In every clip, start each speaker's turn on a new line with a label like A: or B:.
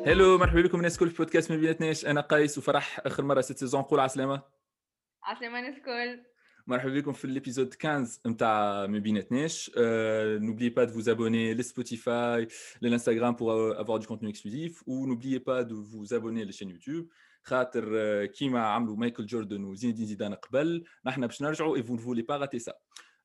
A: هلو، مرحبا بكم الناس الكل في بودكاست ما بيناتناش. انا قيس وفرح. اخر مره ست سيزون. قول عسلامه.
B: عسلامة الكل.
A: مرحبا بكم في الابيزود 15 نتاع ما بيناتناش. N'oubliez pas de vous abonner les Spotify, l'Instagram pour avoir du contenu exclusif, ou n'oubliez pas de vous abonner à la chaîne YouTube. خاطر كيما عملوا مايكل جوردن وزين الدين زيدان قبل، نحن باش نرجعوا et vous ne voulez pas rater ça.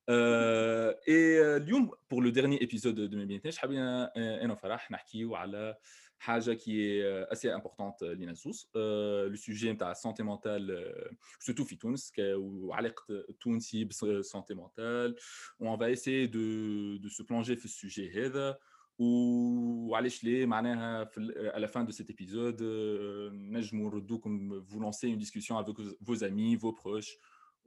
A: اليوم pour le dernier épisode de ما بيناتناش حابين انا وفرح نحكيو على حاجه qui est assez importante لينا زوز. لو سوجي نتاع السانتي مونتال surtout في تونس وعلاقه التونسي بالسانتي مونتال. On va essayer de se plonger في السوجي هذا وعلاش ليه معناها à la fin de cet épisode نجموا نردوكم vous lancer une discussion avec vos amis, vos proches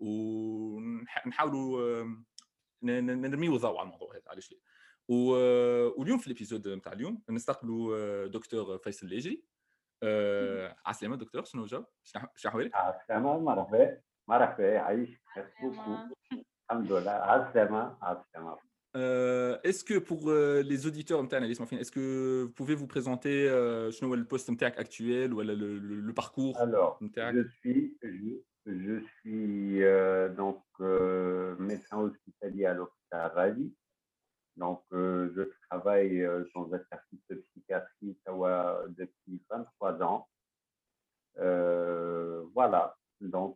A: ونحاولوا نرميو ضوء على الموضوع هذا علاش ليه. واليوم في الابيزود نتاع اليوم نستقبلوا دكتور فيصل اللاجري. عسلامة دكتور، شنو جو؟ شنو أحوالك؟
C: عالسلامة. مرحبا مرحبا، يعيشك. ميرسي بوكو.
B: عسلامة.
C: الحمد لله. عالسلامة عالسلامة.
A: Est-ce que pour les auditeurs نتاعنا اللي يسمعوا فينا, est-ce que vous pouvez vous présenter شنو هو البوست نتاعك actuel ولا le parcours
C: Alors,
A: نتاعك؟
C: je suis donc médecin hospitalier à l'hôpital Rally. Donc, je travaille dans un service de psychiatrie depuis 23 ans. Voilà. Donc,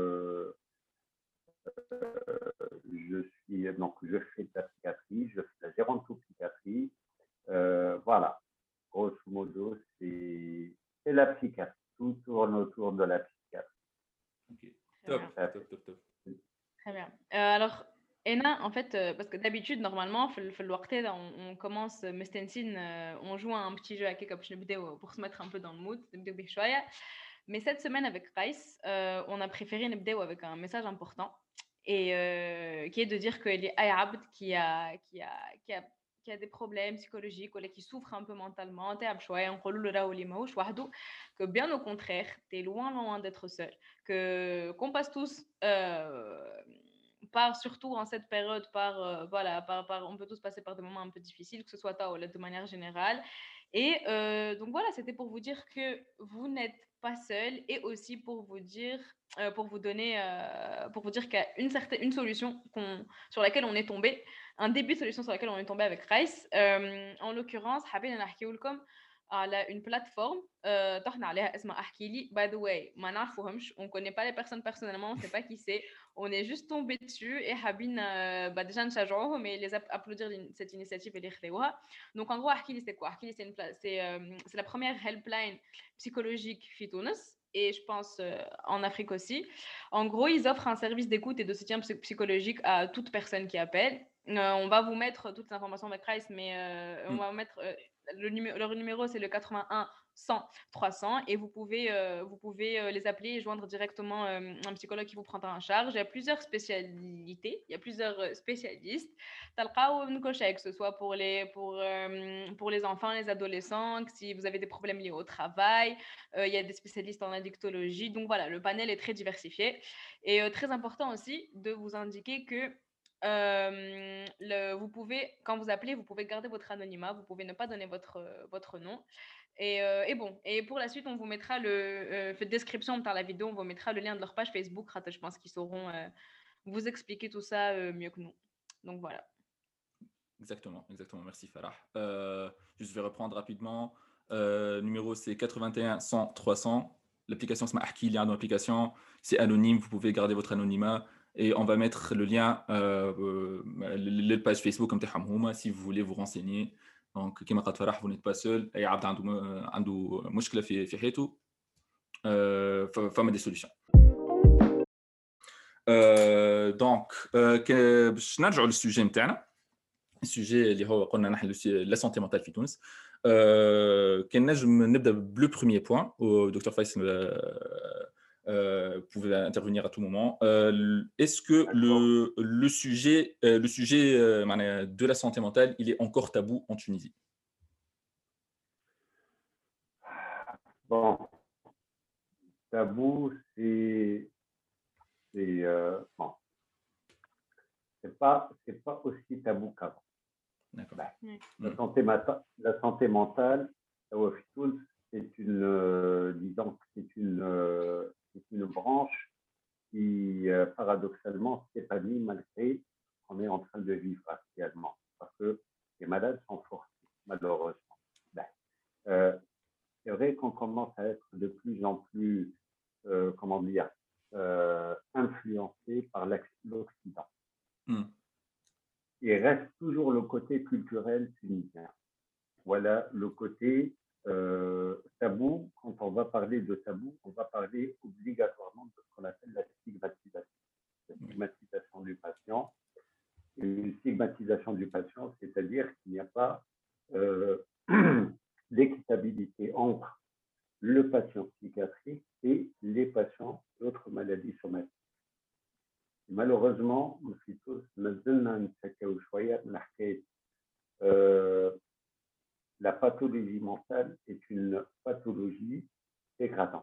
C: je fais de la psychiatrie, je fais de la gérontopsychiatrie. Voilà. Grosso modo, c'est la psychiatrie. Tout tourne autour de la psychiatrie.
A: Ok. Top,
B: Très bien.
A: top.
B: Très bien. Alors, Ena, en fait, parce que d'habitude, normalement, في الوقت هذا, on commence مستنسين, on joue à un petit jeu هكاك باش نبداو pour se mettre un peu dans le mood, نبداو به شوية. Mais cette semaine avec Rice, on a préféré نبداو avec un message important et qui est de dire que les أي عبد qui a des problèmes psychologiques ou qui souffre un peu mentalement, تعب شوية, نقولوا له راهو اللي ماهوش وحده, que bien au contraire, t'es loin d'être seul, que qu'on passe tous par surtout en cette période voilà on peut tous passer par des moments un peu difficiles, que ce soit toi ou de manière générale. Et donc voilà, c'était pour vous dire que vous n'êtes pas seul, et aussi pour vous dire pour vous donner pour vous dire qu'il y a une solution sur laquelle on est tombé, un début de solution sur laquelle on est tombé avec Rice. En l'occurrence حابين نحكيو لكم على une plateforme طحنا عليها اسمها احكي لي. By the way, ما نعرفوهمش, on connaît pas les personnes personnellement, on sait pas qui c'est, on est juste tombé dessus et حابين déjà نشجعوهم et les applaudir cette initiative et les خذوها. Donc en gros احكي لي c'est quoi? احكي لي c'est la première helpline psychologique في تونس, et je pense en Afrique aussi. En gros, ils offrent un service d'écoute et de soutien psychologique à toute personne qui appelle. On va vous mettre toutes les informations avec Rice, mais on va mettre leur numéro, c'est le 81 100 300, et vous pouvez les appeler et joindre directement un psychologue qui vous prendra en charge. Il y a plusieurs spécialités, il y a plusieurs spécialistes. Que ce soit pour les enfants, les adolescents, si vous avez des problèmes liés au travail, il y a des spécialistes en addictologie. Donc voilà, le panel est très diversifié. Et très important aussi de vous indiquer que vous pouvez, quand vous appelez, vous pouvez garder votre anonymat, vous pouvez ne pas donner votre nom. Et bon, et pour la suite, on vous mettra la description dans la vidéo, on vous mettra le lien de leur page Facebook. Je pense qu'ils sauront vous expliquer tout ça mieux que nous. Donc voilà.
A: Exactement. Merci Farah. Je vais reprendre rapidement. Numéro c'est 81 100 300. L'application c'est Ahki, il y a une application, c'est anonyme, vous pouvez garder votre anonymat et on va mettre le lien la page Facebook comme تاعهم si vous voulez vous renseigner. Donc كما قالت فرح, vous n'êtes pas seul. اي عبد عنده مشكله في حياته, فما des solutions. دونك باش نرجعوا للسوجي نتاعنا. السوجي اللي هو قلنا نحن لا سانتي مونتال في تونس. كان نجم نبدا بلو بروميير بوين ودكتور فايسل pouvez intervenir à tout moment. Est-ce que le sujet de la santé mentale, il est encore tabou en Tunisie?
C: Bon, tabou, bon, c'est pas aussi tabou qu'avant.
A: D'accord.
C: La santé mentale, هو في تونس disons que c'est une branche qui, paradoxalement, s'épanouit malgré qu'on est en train de vivre actuellement. Parce que les malades sont forcés, malheureusement. Ben, euh, c'est vrai qu'on commence à être de plus en plus, comment dire, influencé par l'Occident. Il reste toujours le côté culturel tunisien. Voilà le côté tabou. Quand on va parler de tabou, on va parler obligatoirement de ce qu'on appelle la stigmatisation. La stigmatisation du patient. Et une stigmatisation du patient, c'est-à-dire qu'il n'y a pas d'équitabilité entre le patient psychiatrique et les patients d'autres maladies somatiques. Malheureusement, la pathologie mentale est une pathologie dégradante.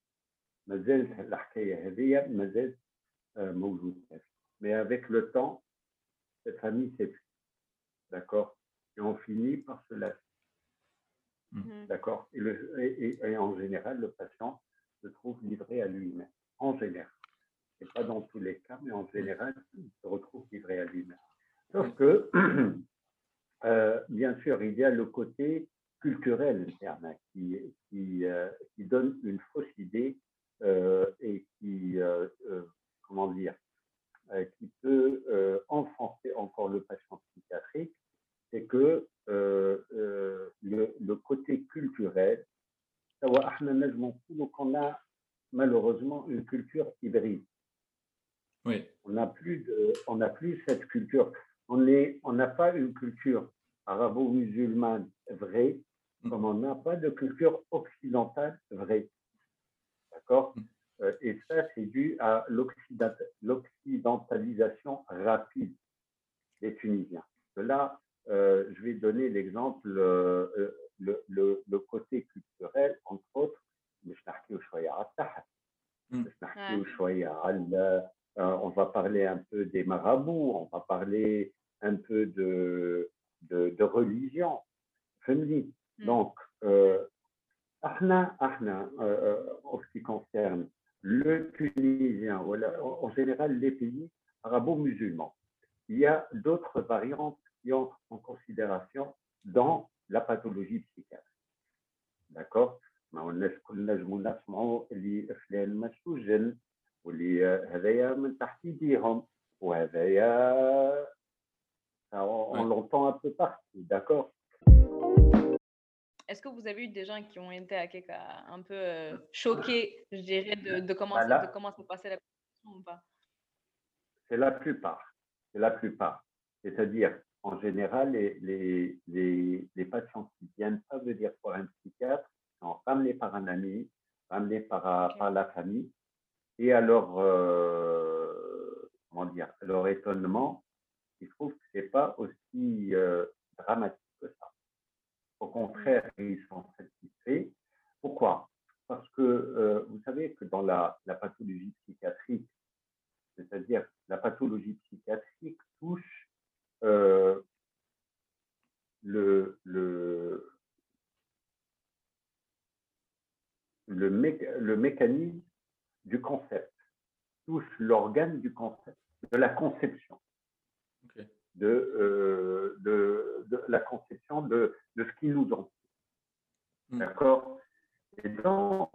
C: Mais avec le temps, cette famille s'épuise. D'accord? Et on finit par se lasser. D'accord? Et en général, le patient se trouve livré à lui-même. En général. Ce n'est pas dans tous les cas, mais en général, il se retrouve livré à lui-même. Sauf que, bien sûr, il y a le côté culturel interne qui donne une fausse idée et qui, comment dire, qui peut enfoncer encore le patient psychiatrique, c'est que le côté culturel, qu'on a malheureusement une culture hybride.
A: Oui.
C: On n'a plus cette culture. On n'a pas une culture arabo-musulmane vraie, comme on n'a pas de culture occidentale vraie. D'accord? Et ça, c'est dû à l'occidentalisation rapide des Tunisiens. Là, je vais donner l'exemple, le côté culturel, entre autres, on va parler un peu des marabouts, on va parler un peu de religion. Donc, en ce qui concerne le Tunisien, en général les pays arabo-musulmans, il y a d'autres variantes qui entrent en considération dans la pathologie psychiatrique. D'accord? واللي هذايا من تحت يديهم وهذايا on l'entend un peu partout, d'accord?
B: Est-ce que vous avez eu des gens qui ont été un peu choqués, je dirais, de comment se passait la conversation ou pas?
C: C'est la plupart. C'est la plupart. C'est-à-dire, en général, les patients qui viennent pas venir voir un psychiatre sont ramenés par un ami, ramenés par la famille. Et alors, comment dire, leur étonnement, ils trouvent que ce n'est pas aussi dramatique que ça. Au contraire, ils sont satisfaits. Pourquoi? Parce que vous savez que dans la pathologie psychiatrique, c'est-à-dire la pathologie psychiatrique touche le mécanisme du concept, touche l'organe du concept, de la conception, de la conception de ce qui nous entoure. D'accord? Et donc,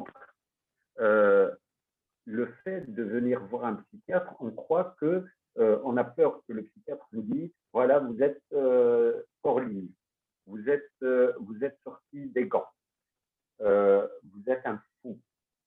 C: le fait de venir voir un psychiatre, on croit que on a peur que le psychiatre nous dise voilà, vous êtes hors ligne, vous êtes sorti des gants, vous êtes un fou.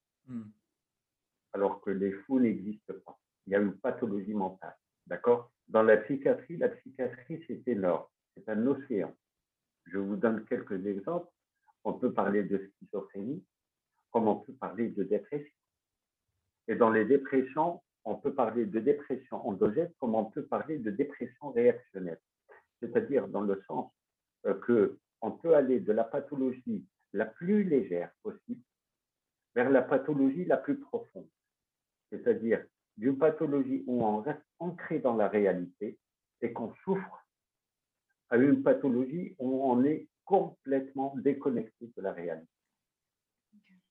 C: Alors que les fous n'existent pas. Il y a une pathologie mentale. D'accord? Dans la psychiatrie, c'est énorme. C'est un océan. Je vous donne quelques exemples. On peut parler de schizophrénie, comme on peut parler de dépression. Et dans les dépressions, on peut parler de dépression endogène, comme on peut parler de dépression réactionnelle. C'est-à-dire dans le sens qu'on peut aller de la pathologie la plus légère possible vers la pathologie la plus profonde. C'est-à-dire d'une pathologie où on reste ancré dans la réalité et qu'on souffre, à une pathologie où on est complètement déconnecté de la réalité.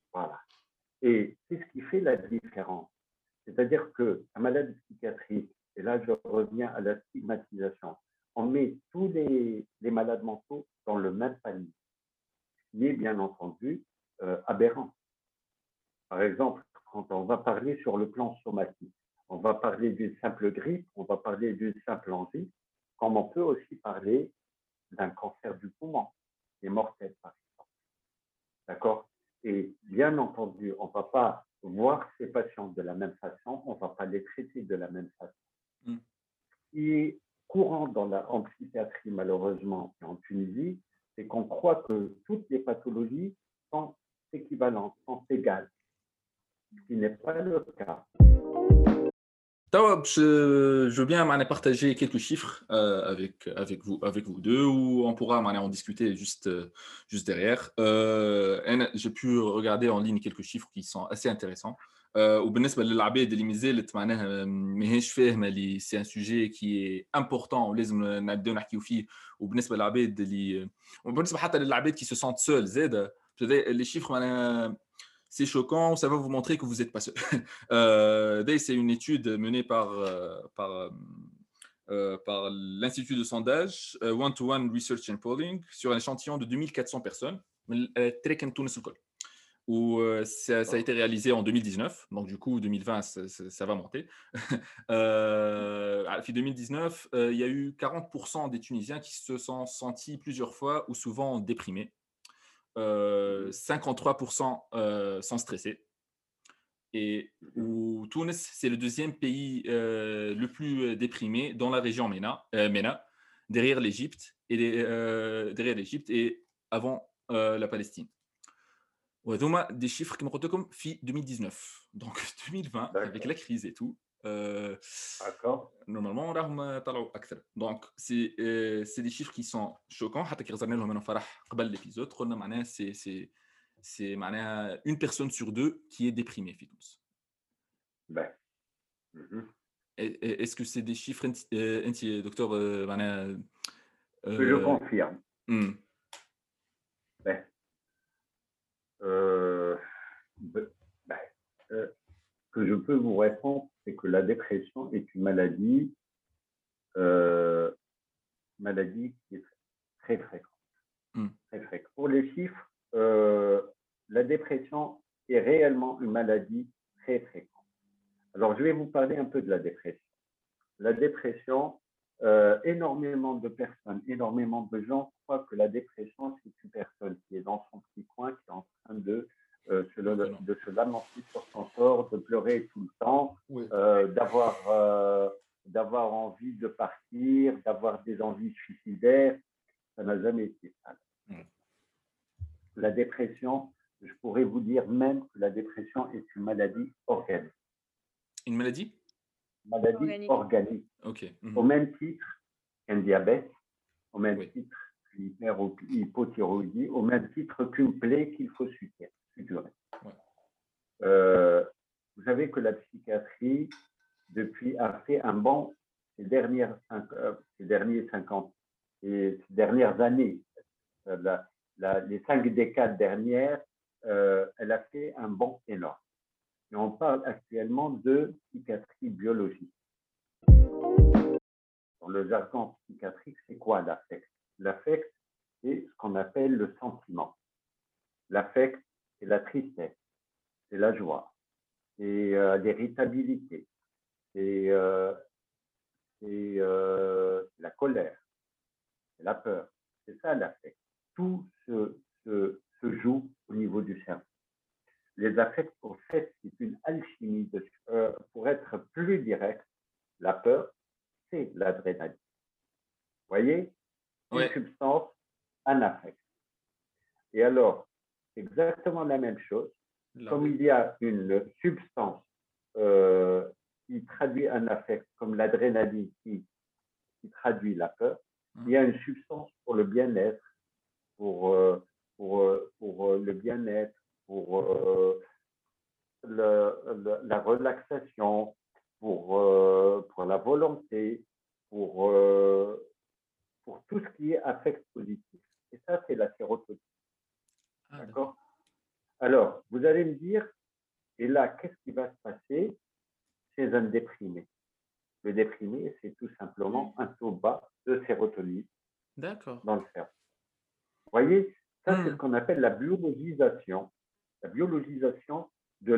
C: Voilà. Et c'est ce qui fait la différence. C'est-à-dire qu'un malade psychiatrique, et là je reviens à la stigmatisation, on met tous les malades mentaux dans le même panier, ce qui est bien entendu aberrant. Par exemple, quand on va parler sur le plan somatique, on va parler d'une simple grippe, on va parler d'une simple angine, comme on peut aussi parler d'un cancer du poumon, qui est mortel, par exemple. D'accord? Et bien entendu, on ne va pas voir ces patients de la même façon, on ne va pas les traiter de la même façon.
A: Mm.
C: Ce qui est courant en psychiatrie, malheureusement, et en Tunisie, c'est qu'on croit que toutes les pathologies sont équivalentes, sont égales, ce qui n'est pas le cas.
A: توا je veux bien معناها partager quelques chiffres avec vous deux ou on pourra معناها en discuter juste derrière. J'ai pu regarder en ligne quelques chiffres qui sont assez intéressants. وبالنسبة للعباد اللي مازالت معناها ماهيش فاهمة اللي c'est un sujet qui est important ولازم نبداو نحكيو فيه وبالنسبة للعباد اللي وبالنسبة حتى للعباد qui se sentent seuls زادة les chiffres معناها c'est choquant, ça va vous montrer que vous n'êtes pas seul. C'est une étude menée par l'Institut de sondage One-to-One Research and Polling sur un échantillon de 2400 personnes. Où ça a été réalisé en 2019, donc du coup 2020 ça va monter. Puis 2019, il y a eu 40% des Tunisiens qui se sont sentis plusieurs fois ou souvent déprimés. 53% sont stressés. Et où Tunis, c'est le deuxième pays le plus déprimé dans la région MENA, derrière l'Égypte et avant la Palestine. وهذوما des chiffres كما قلت لكم في 2019 donc 2020 avec la crise et tout normalement راهم طلعوا اكثر donc c'est des chiffres qui sont choquants حتى كي غزرنا لهم انا فرح قبل الابيزود قلنا معناها c'est معناها une personne sur deux qui est déprimée في تونس. Est-ce que c'est des chiffres انت دكتور معناها
C: je confirme. Ce que je peux vous répondre, c'est que la dépression est une maladie qui est très fréquente. Très fréquente. Pour les chiffres, la dépression est réellement une maladie très fréquente. Alors, je vais vous parler un peu de la dépression. La dépression, énormément de personnes, énormément de gens croient que la dépression, c'est une personne qui est dans son petit coin, qui est en train de se lamenter sur son sort, de pleurer tout le temps, oui. D'avoir envie de partir, d'avoir des envies suicidaires. Ça n'a jamais été ça. La dépression, je pourrais vous dire même que la dépression est une maladie organique.
A: Une maladie
C: organique.
A: Okay.
C: Au même titre qu'un diabète, au même titre qu'une hypothyroïdie, au même titre qu'une plaie qu'il faut suturer. Vous savez que la psychiatrie, a fait un bond ces dernières années, les 5 décades dernières, elle a fait un bond énorme. Et on parle actuellement de psychiatrie biologique. Dans le jargon psychiatrique, c'est quoi l'affect? L'affect, c'est ce qu'on appelle le sentiment. L'affect, c'est la tristesse, c'est la joie, c'est l'irritabilité, c'est la colère, c'est la peur. C'est ça l'affect. Tout se joue au niveau du cerveau. Les affects, au fait, c'est une alchimie. Pour être plus direct, la peur, c'est l'adrénaline. Vous voyez? Une substance, un affect. Et alors, c'est exactement la même chose. Comme il y a une substance qui traduit un affect, comme l'adrénaline qui traduit la peur, il y a une substance pour le bien-être, pour le bien-être, pour la relaxation, pour la volonté, pour tout ce qui est affect positif. Et ça, c'est la sérotonine. D'accord? Alors, vous allez me dire, et là, qu'est-ce qui va se passer chez un déprimé? Le déprimé, c'est tout simplement un taux bas de sérotonine
A: D'accord.
C: dans le cerveau. Vous voyez, ça, c'est ce
A: Hmm.
C: qu'on appelle la biologisation de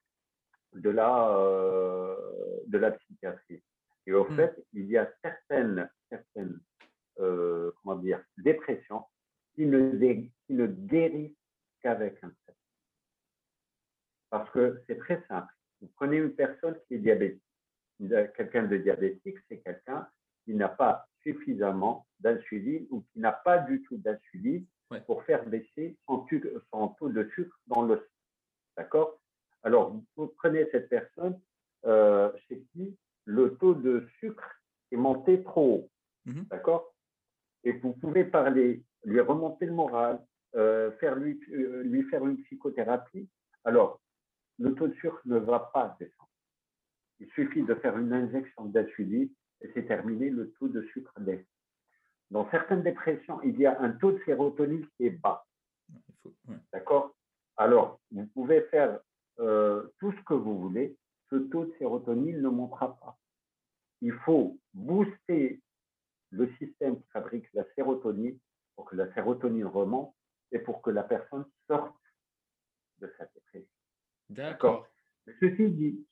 C: de la psychiatrie. Et au
A: Hmm.
C: fait, il y a certaines comment dire, dépressions qui ne guérissent qu'avec un traitement. Parce que c'est très simple. Vous prenez une personne qui est diabétique. Quelqu'un de diabétique, c'est quelqu'un qui n'a pas suffisamment d'insuline ou qui n'a pas du tout d'insuline
A: Ouais.
C: pour faire baisser son taux de sucre dans le sang. D'accord? Alors, vous prenez cette personne chez qui le taux de sucre est monté trop haut.
A: Mhm.
C: D'accord? Et vous pouvez parler, lui remonter le moral, lui faire une psychothérapie. Alors, le taux de sucre ne va pas descendre. Il suffit de faire une injection d'insuline et c'est terminé, le taux de sucre descend. Dans certaines dépressions, il y a un taux de sérotonine qui est bas.
A: Ouais.
C: D'accord? Alors, vous pouvez faire tout ce que vous voulez, ce taux de sérotonine ne montera pas. Il faut booster le système qui fabrique la sérotonine pour que la sérotonine remonte et pour que la personne sorte de sa dépression. D'accord?
A: D'accord.
C: Ceci dit,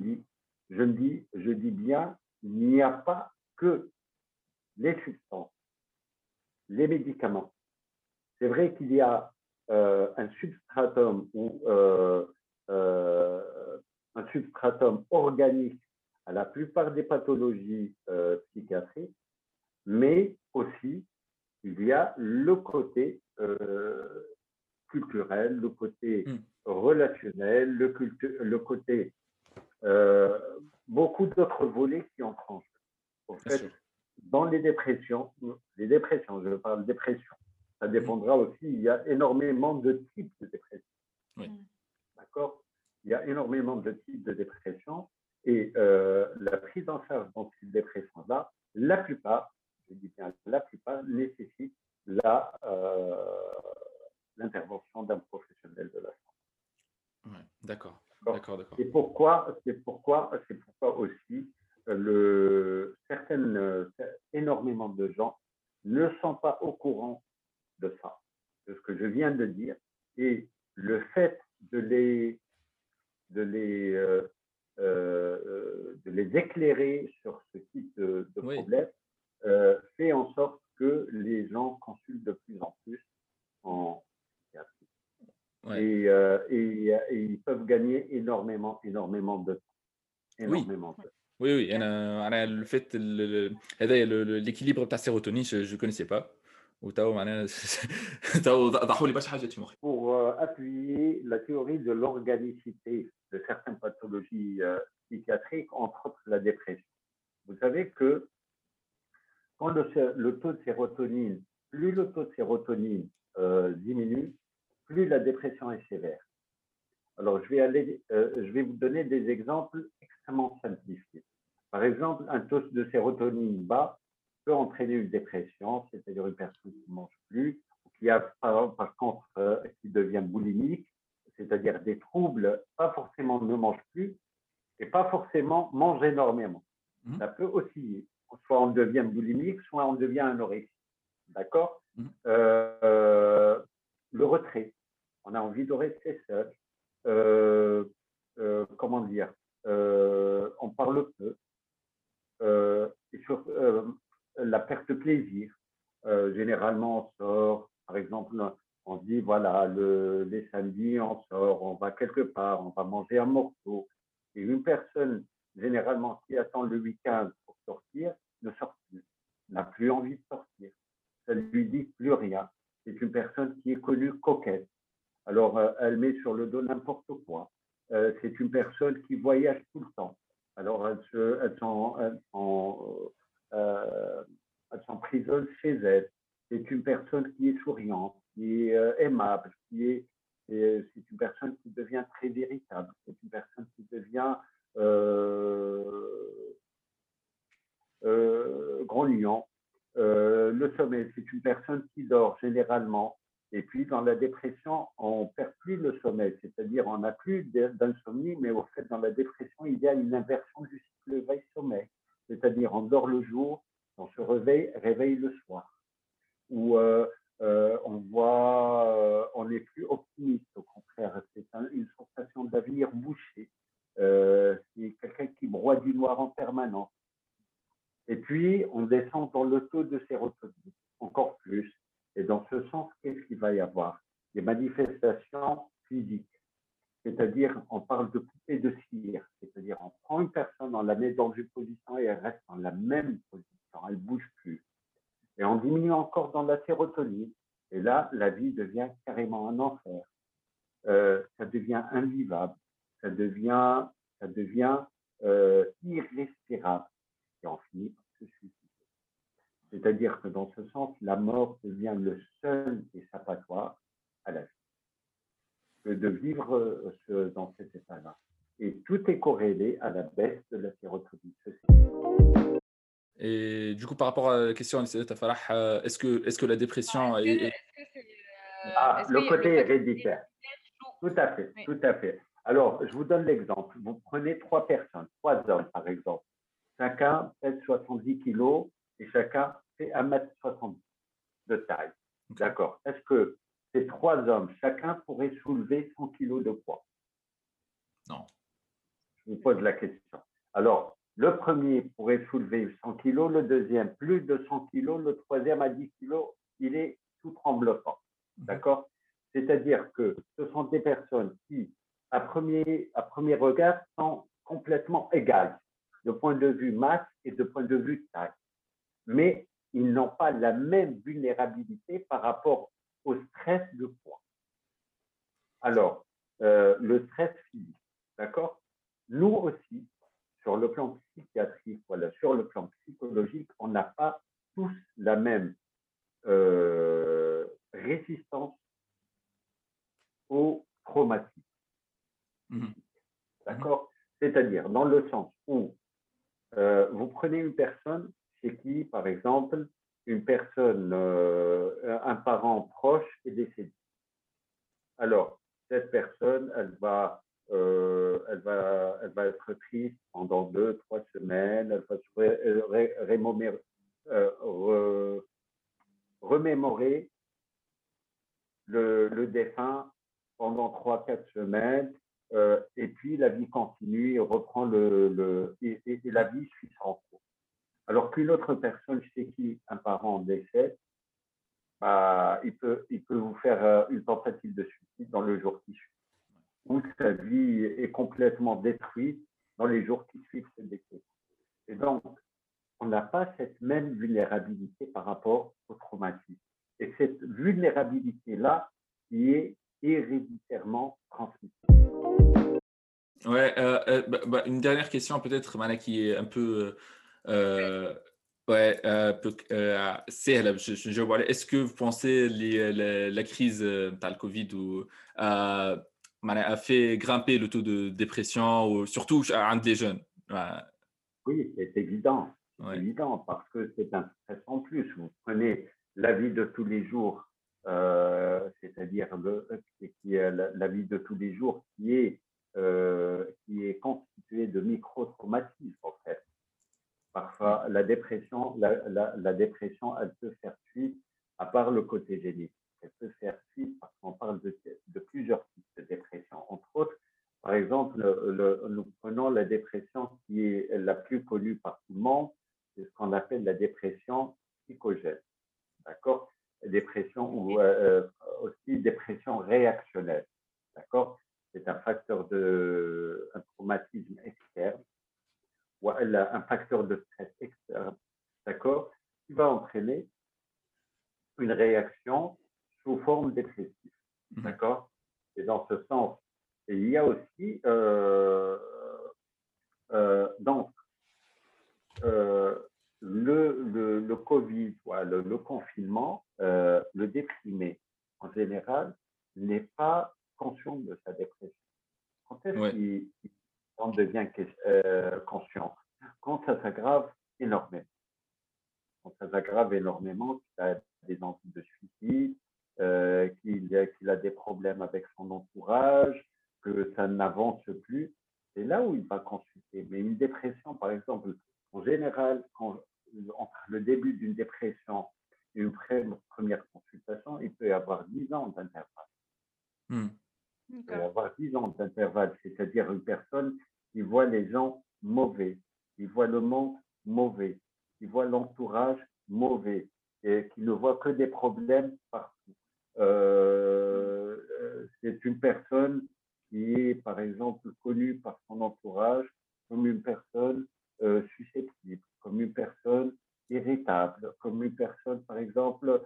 C: je dis bien, il n'y a pas que les substances, les médicaments. C'est vrai qu'il y a un substratum ou un substratum organique à la plupart des pathologies psychiatriques, mais aussi il y a le côté culturel, le côté
A: Hmm.
C: relationnel, le côté beaucoup d'autres volets qui entrent en jeu. En
A: Bien
C: fait,
A: sûr.
C: dans les dépressions, je parle de dépression, ça
A: Hmm.
C: dépendra aussi, il y a énormément de types de dépression.
A: Oui.
C: D'accord? Il y a énormément de types de dépression et la prise en charge dans ces dépressions-là, la plupart, je dis bien la plupart, nécessitent l'intervention d'un professionnel de la santé.
A: Ouais. D'accord.
C: D'accord?
A: D'accord, d'accord.
C: C'est pourquoi aussi énormément de gens ne sont pas au courant de ça, de ce que je viens de dire, et le fait de les éclairer sur ce type de
A: Oui.
C: problème fait en sorte que les gens consultent de plus en plus en psychiatrie.
A: Ouais.
C: Et ils peuvent gagner énormément de temps.
A: Oui.
C: Énormément de temps.
A: Oui, oui. أنا le fait هذايا l'équilibre تاع السيروتونين je connaissais pas وتوا معناها توا ضحوا لي برشا حاجات في مخي.
C: Pour appuyer la théorie de l'organicité de certaines pathologies psychiatriques, entre autres la dépression. Vous savez que quand le taux de sérotonine, plus le taux de sérotonine diminue, plus la dépression est sévère. Alors, je vais vous donner des exemples extrêmement simplifiés. Par exemple, un taux de sérotonine bas peut entraîner une dépression, c'est-à-dire une personne qui ne mange plus, ou qui a par contre qui devient boulimique, c'est-à-dire des troubles, pas forcément ne mange plus, et pas forcément mange énormément.
A: Mhm.
C: Ça peut osciller. Soit on devient boulimique, soit on devient anorexique. D'accord?
A: Mhm.
C: Le retrait. On a envie de rester seul. Comment dire? On parle peu. Et sur la perte de plaisir. Généralement, on sort, par exemple, on se dit, voilà, les samedis, on sort, on va quelque part, on va manger un morceau. Et une personne, généralement, qui attend le week-end pour sortir, ne sort plus, n'a plus envie de sortir. Ça ne lui dit plus rien. C'est une personne qui est connue coquette. Alors, elle met sur le dos n'importe quoi. C'est une personne qui voyage tout le temps. Alors, elle s'emprisonne chez elle. C'est une personne qui est souriante, qui est aimable, c'est une personne qui devient très véritable. C'est une personne qui devient grognon. Le sommeil, c'est une personne qui dort généralement Et puis, dans la dépression, on perd plus le sommeil, c'est-à-dire on n'a plus d'insomnie, mais au fait, dans la dépression, il y a une inversion du cycle veille-sommeil. C'est-à-dire, on dort le jour, on se réveille le soir. Ou on n'est plus optimiste, au contraire, c'est une sensation d'avenir bouché. C'est quelqu'un qui broie du noir en permanence. Et puis, on descend dans le taux de sérotonine, encore plus. Et dans ce sens, qu'est-ce qu'il va y avoir? Des manifestations physiques. C'est-à-dire, on parle de coupée de cire. C'est-à-dire, on prend une personne, on la met dans une position et elle reste dans la même position. Elle ne bouge plus. Et on diminue encore dans la sérotonine. Et là, la vie devient carrément un enfer. Ça devient invivable. Ça devient irrespirable. Et on finit par se suicider. C'est-à-dire que dans ce sens, la mort devient le seul échappatoire à la vie. Que de vivre dans cet état-là. Et tout est corrélé à la baisse de la sérotonine.
A: Et du coup, par rapport à la question de Farah, est-ce que la dépression
B: Est-ce que c'est
C: le côté
B: le fait
C: héréditaire. Tout à fait,
B: oui.
C: tout à fait. Alors, je vous donne l'exemple. Vous prenez 3 personnes, 3 hommes par exemple. Chacun pèse 70 kilos et chacun fait 1,70 m de taille.
A: Okay.
C: D'accord. Est-ce que ces 3 hommes, chacun pourrait soulever 100 kilos de poids?
A: Non.
C: Je vous pose la question. Alors, le premier pourrait soulever 100 kilos, le deuxième plus de 100 kilos, le troisième à 10 kilos, il est tout tremblotant. D'accord? C'est-à-dire que ce sont des personnes qui, à premier regard, sont complètement égales, de point de vue masse et de point de vue taille. Mais ils n'ont pas la même vulnérabilité par rapport au stress de poids. Alors, le stress physique, d'accord? Nous aussi, sur le plan psychiatrique, voilà, sur le plan psychologique, on n'a pas tous la même résistance au traumatisme. D'accord? C'est-à-dire dans le sens où vous prenez une personne chez qui, par exemple, une personne, un parent proche est décédé. Alors, cette personne, elle va être triste pendant 2-3 semaines, elle va se remémorer le défunt pendant 3-4 semaines, et puis la vie continue et reprend et la vie suit son cours. Alors qu'une autre personne chez qui un parent décède, il peut vous faire une tentative de suicide dans le jour qui suit, où sa vie est complètement détruite dans les jours qui suivent ce décès. Et donc, on n'a pas cette même vulnérabilité par rapport au traumatisme. Et cette vulnérabilité-là qui est héréditairement transmissible.
A: Ouais, une dernière question peut-être, Mana, qui est un peu... سهلة باش نجاوب عليها. Est-ce que vous pensez la crise تاع le Covid معناها a fait grimper le taux de dépression ou surtout عند les jeunes?
C: Oui, c'est évident. C'est
A: Ouais.
C: évident parce que c'est un stress en plus. Vous prenez la vie de tous les jours, c'est-à-dire la vie de tous les jours qui est constituée de micro-traumatismes en fait. Parfois, la dépression, elle peut faire suite, à part le côté génétique, elle peut faire suite parce qu'on parle de plusieurs types de dépression. Entre autres, par exemple, nous prenons la dépression qui est la plus connue par tout le monde, c'est ce qu'on appelle la dépression psychogène. D'accord? Dépression ou aussi dépression réactionnelle. D'accord? C'est un facteur un traumatisme externe ou un facteur de stress externe, d'accord, qui va entraîner une réaction sous forme dépressive, d'accord. Et dans ce sens, il y a aussi donc le Covid, le confinement, le déprimé en général n'est pas conscient de sa dépression. Quand est-ce qu'il devient conscient? Quand ça s'aggrave énormément. Quand ça s'aggrave énormément, qu'il a des envies de suicide, qu'il a des problèmes avec son entourage, que ça n'avance plus, c'est là où il va consulter. Mais une dépression, par exemple, en général, entre le début d'une dépression et une première consultation, il peut y avoir 10 ans d'intervalle.
A: Hmm.
C: Il peut y avoir 10 ans d'intervalle, c'est-à-dire une personne qui voit les gens mauvais, qui voit le monde mauvais, qui voit l'entourage mauvais, et qui ne voit que des problèmes partout. C'est une personne qui est, par exemple, connue par son entourage comme une personne susceptible, comme une personne irritable, comme une personne, par exemple,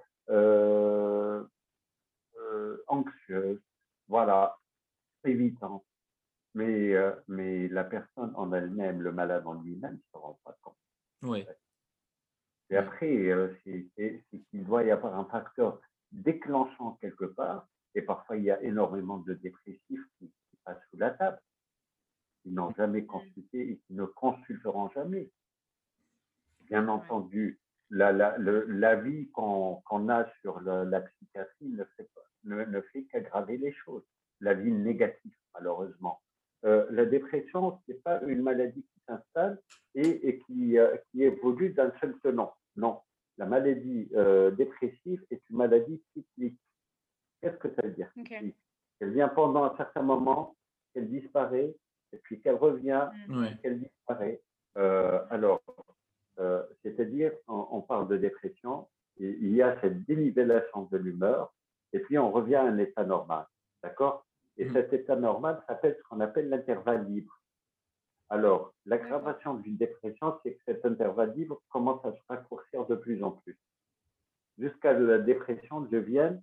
C: anxieuse, voilà, évitante. Mais la personne en elle-même, le malade en lui-même, ne se rend pas compte.
A: Oui.
C: Et après, c'est qu'il doit y avoir un facteur déclenchant quelque part. Et parfois, il y a énormément de dépressifs qui passent sous la table, qui n'ont jamais consulté et qui ne consulteront jamais. Bien entendu, l'avis qu'on a sur la psychiatrie ne fait qu'aggraver les choses. L'avis négatif, malheureusement. La dépression, ce n'est pas une maladie qui s'installe et qui évolue d'un seul tenant. Non, la maladie dépressive est une maladie cyclique. Qu'est-ce que ça veut dire?
B: Okay.
C: Elle vient pendant un certain moment, elle disparaît, et puis qu'elle revient, et qu'elle disparaît. Alors, c'est-à-dire, on parle de dépression, et il y a cette dénivellation de l'humeur, et puis on revient à un état normal. D'accord? Et cet état normal s'appelle ce qu'on appelle l'intervalle libre. Alors, l'aggravation d'une dépression, c'est que cet intervalle libre commence à se raccourcir de plus en plus, jusqu'à ce que la dépression devienne,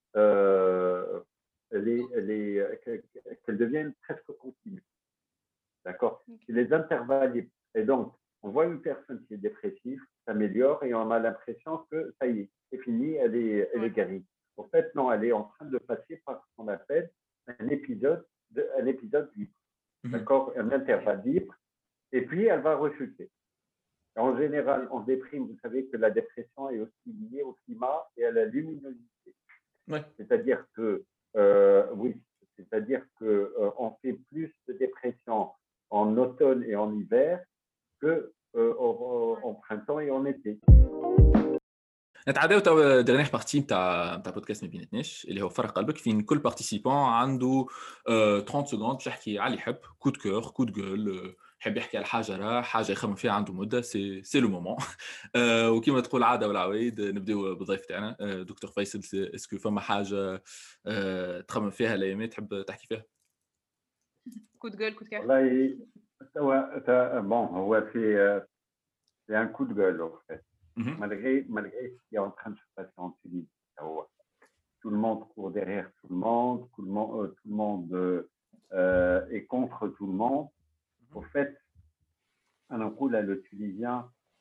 C: qu'elle devienne presque continue. D'accord? C'est les intervalles libres. Et donc, on voit une personne qui est dépressive, s'améliore et on a l'impression que ça y est, c'est fini, elle est guérie. En fait, non, elle est en train de passer par ce qu'on appelle un épisode libre. D'accord? Un intervalle libre. Et puis, elle va rechuter. En général, en déprime, vous savez que la dépression est aussi liée au climat et à la luminosité.
A: Ouais.
C: C'est-à-dire que, oui, c'est-à-dire qu'on fait plus de dépression en automne et en hiver que en printemps et en été.
A: نتعداو توا ديرنيغ بارتي نتاع بودكاست ما بيناتناش اللي هو فرق قلبك فين كل بارتيسيبون عنده 30 سكوند باش يحكي على اللي يحب كود كور كود جول يحب يحكي على حاجه راه حاجه يخمم فيها عنده مده سي لو مومون وكيما تقول عاده والعوايد نبداو بالضيف تاعنا دكتور فيصل اسكو فما حاجه تخمم فيها الايامات تحب تحكي فيها
B: Coup de gueule, coup de cœur.
C: والله bon, c'est un coup de gueule en fait. Malgré ce qui est en train de se passer en Tunisie. Tout le monde court derrière tout le monde, tout le monde est contre tout le monde. Au fait, un coup là, le Tunisien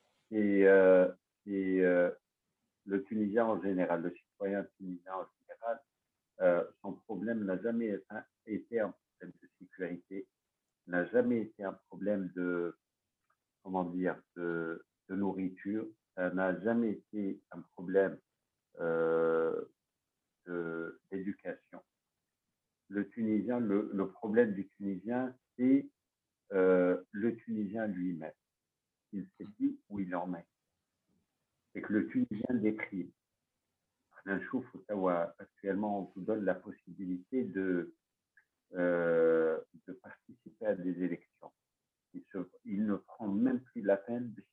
C: le Tunisien en général, le citoyen tunisien en général, son problème n'a jamais été un problème de sécurité, n'a jamais été un problème de, comment dire, de nourriture, ça n'a jamais été un problème d'éducation. Le Tunisien, le problème du Tunisien, c'est le Tunisien lui-même. Il ne sait plus où il en est. C'est que le Tunisien déprime. Actuellement, on vous donne la possibilité de participer à des élections. Il ne prend même plus la peine de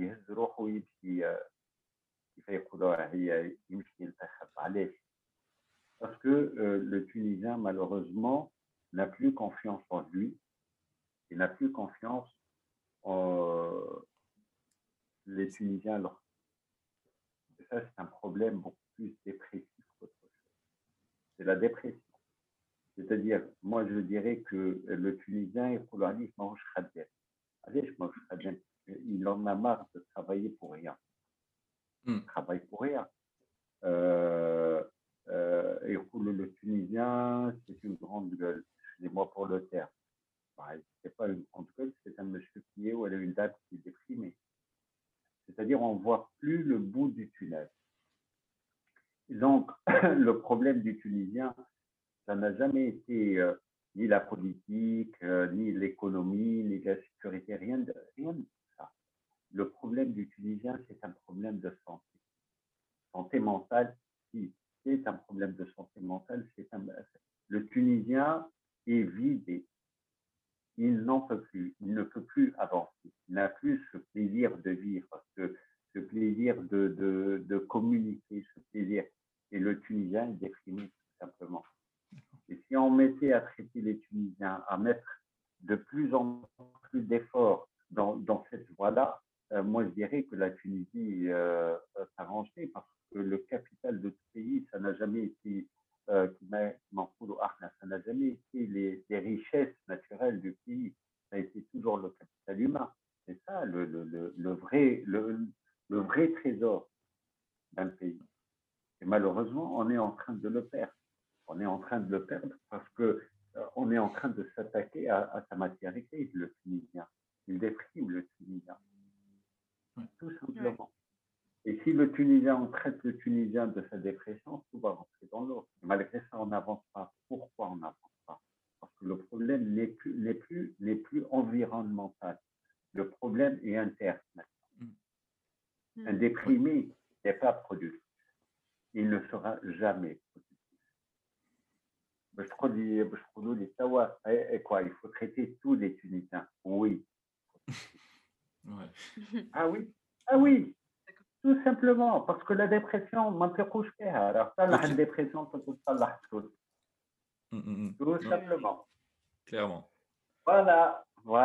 C: parce que le Tunisien, malheureusement, n'a plus confiance en lui, il n'a plus confiance en les Tunisiens. Et ça, c'est un problème beaucoup plus dépressif qu'autre chose. C'est la dépression. C'est-à-dire, moi, je dirais que le Tunisien, il en a marre de travailler pour rien. Il travaille pour rien. Le Tunisien, c'est une grande gueule. Excusez-moi pour le terme. C'est pas une grande gueule, c'est un monsieur qui est ou elle a une dame qui est déprimée. C'est-à-dire, on ne voit plus le bout du tunnel. Donc, le problème du Tunisien, Ça n'a jamais été ni la politique, ni l'économie, ni la sécurité, rien de ça. Le problème du Tunisien, c'est un problème de santé. Santé mentale, si, c'est un problème de santé mentale. Le Tunisien est vidé. Il n'en peut plus. Il ne peut plus avancer. Il n'a plus ce plaisir de vivre, ce plaisir de communiquer, ce plaisir. Et le Tunisien est déprimé, tout simplement. Et si on mettait à traiter les Tunisiens, à mettre de plus en plus d'efforts dans cette voie-là, moi je dirais que la Tunisie s'arrangerait parce que le capital de ce pays, ça n'a jamais été, ça n'a jamais été les richesses naturelles du pays, ça a été toujours le capital humain. C'est ça le vrai trésor d'un pays. Et malheureusement, on est en train de le perdre. On est en train de le perdre parce que on est en train de s'attaquer à sa matière grise, le Tunisien. Il déprime le Tunisien, tout simplement. Et si le Tunisien, on traite le Tunisien de sa dépression, tout va rentrer dans l'autre. Malgré ça, on n'avance pas. Pourquoi on n'avance pas? Parce que le problème n'est plus environnemental. Le problème est interne. Un déprimé n'est pas productif. Il ne sera jamais productif. Et quoi, il faut traiter tous les Tunisiens. Oui. Ah oui. Ah oui. Tout simplement. Parce que la dépression, ما نطيقوش فيها. Alors ça, la dépression, tout simplement.
A: Clairement.
C: Voilà.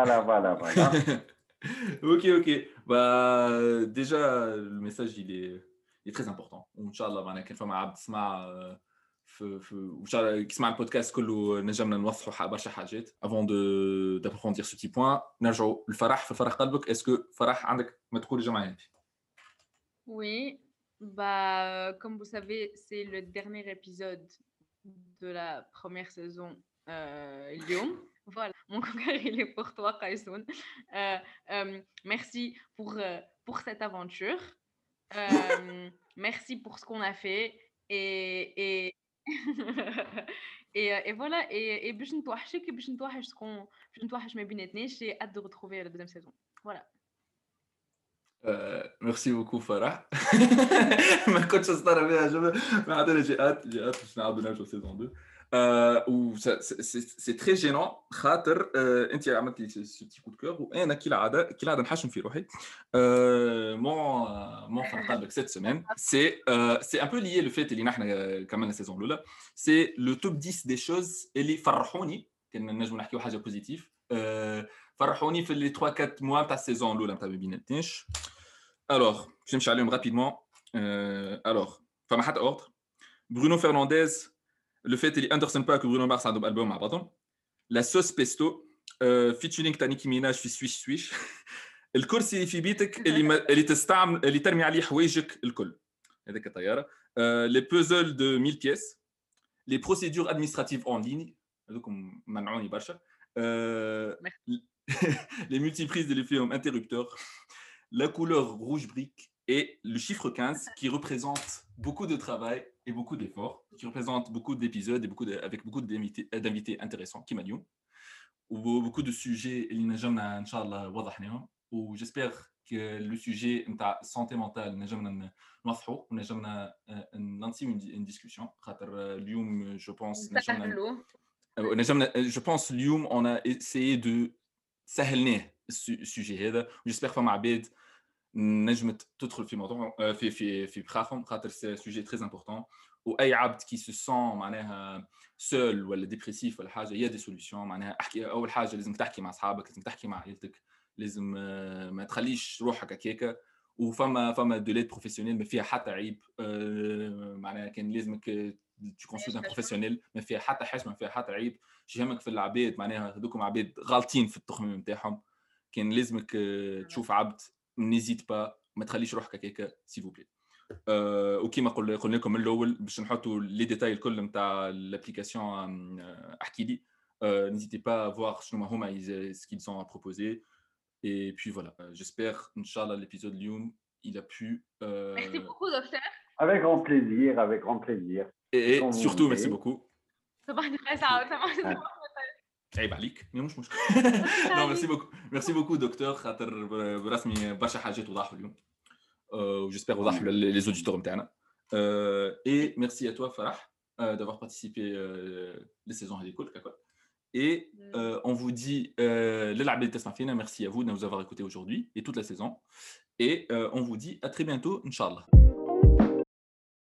A: Ok. Bah, déjà, le message, il est très important. Inch'Allah, معنا كان فما عبد سمع وإن شاء الله كيسمع البودكاست كله نجمنا نوضحوا برشا حاجات. Avant d'approfondir ce petit point, نرجعوا الفرح في فرح قلبك. Est-ce que فرح عندك ما تقول الجمعة؟
B: Oui, bah, comme vous savez, c'est le dernier épisode de la première saison Lyon. Voilà, mon cœur, il est pour toi, Kaisoun. Merci pour cette aventure. Merci pour ce qu'on a fait. Et et voilà. Et باش نتوحشك باش نتوحش شكون باش نتوحش ما بيناتناش. J'ai hâte de retrouver la deuxième saison. Voilà.
A: Merci beaucoup Farah. ما كنتش استغرب بها جمله ما عندنا جهات باش نعاودوا نرجعوا saison 2. و c'est très gênant خاطر انت عملت لي ce petit coup de cœur وانا كالعاده نحشم في روحي. mon فرح قلبك cette semaine c'est un peu lié le fait اللي نحن كملنا saison الاولى. c'est le top 10 des choses اللي فرحوني كنا نجموا نحكيوا حاجه بوزيتيف. فرحوني في les 3-4 mois تاع السيزون الاولى نتاع بيناتناش. Alors, je vais aller rapidement. Alors, فما حتى ordre. Bruno Fernandes, le fait qu'il Anderson Paak et Bruno Mars عندهم album مع بعضهم. La sauce pesto, featuring تاع نيكي ميناج في سويش. الكرسي اللي في بيتك اللي تستعمل اللي ترمي عليه حوايجك الكل. هذاك الطياره. Les puzzles de 1000 pièces. Les procédures administratives en ligne. هذوكم منعوني برشا. Les multiprises de l'effet interrupteur. La couleur rouge brique et le chiffre 15 qui représente beaucoup de travail et beaucoup d'efforts, qui représente beaucoup d'épisodes et avec beaucoup d'invités intéressants qui m'ont ou beaucoup de sujets ou j'espère que le sujet de santé mentale une discussion je pense اليوم on a essayé de سهلناه السوجي هذا j'espère فما عباد نجمت تدخل في موضوع في بخاخهم خاطر سي سوجي تري امبورطون واي عبد كي سو سون معناها سول ولا ديبريسيف ولا حاجه يا دي سوليوشن معناها احكي اول حاجه لازم تحكي مع اصحابك لازم تحكي مع عائلتك لازم ما تخليش روحك هكاكا وفما دولات بروفيسيونيل ما فيها حتى عيب معناها كان لازمك tu consultes un professionnel ما فيها حتى حشمه ما فيها حتى عيب شهمك في العباد معناها هذوكم عباد غالطين في التخميم نتاعهم كان لازمك تشوف عبد نيزيت با ما تخليش روحك هكاكا سيل فو بلي. وكيما قلنا لكم من الاول باش نحطوا لي ديتاي الكل نتاع الابليكاسيون احكي لي n'hésitez pas à voir شنو هما ce qu'ils ont à proposer et puis voilà j'espère inchallah l'épisode Lyoum il a pu
B: merci beaucoup docteur
C: avec grand plaisir
A: et surtout merci beaucoup
B: صباح الخير سعود
C: آه.
A: عيب عليك مش مشكل.
B: صباح
A: نو
B: الخير.
A: ميرسي بوكو دكتور خاطر برسمي برشا حاجات وضحوا اليوم. J'espère
C: Tant
A: وضحوا
C: mieux.
A: les auditeurs نتاعنا. Et merci à toi Farah d'avoir participé les saisons هذه كل. Et on vous dit للعباد اللي تسمع فينا merci à vous de nous avoir écoutés aujourd'hui et toute la saison. Et on vous dit à très bientôt Inch'Allah.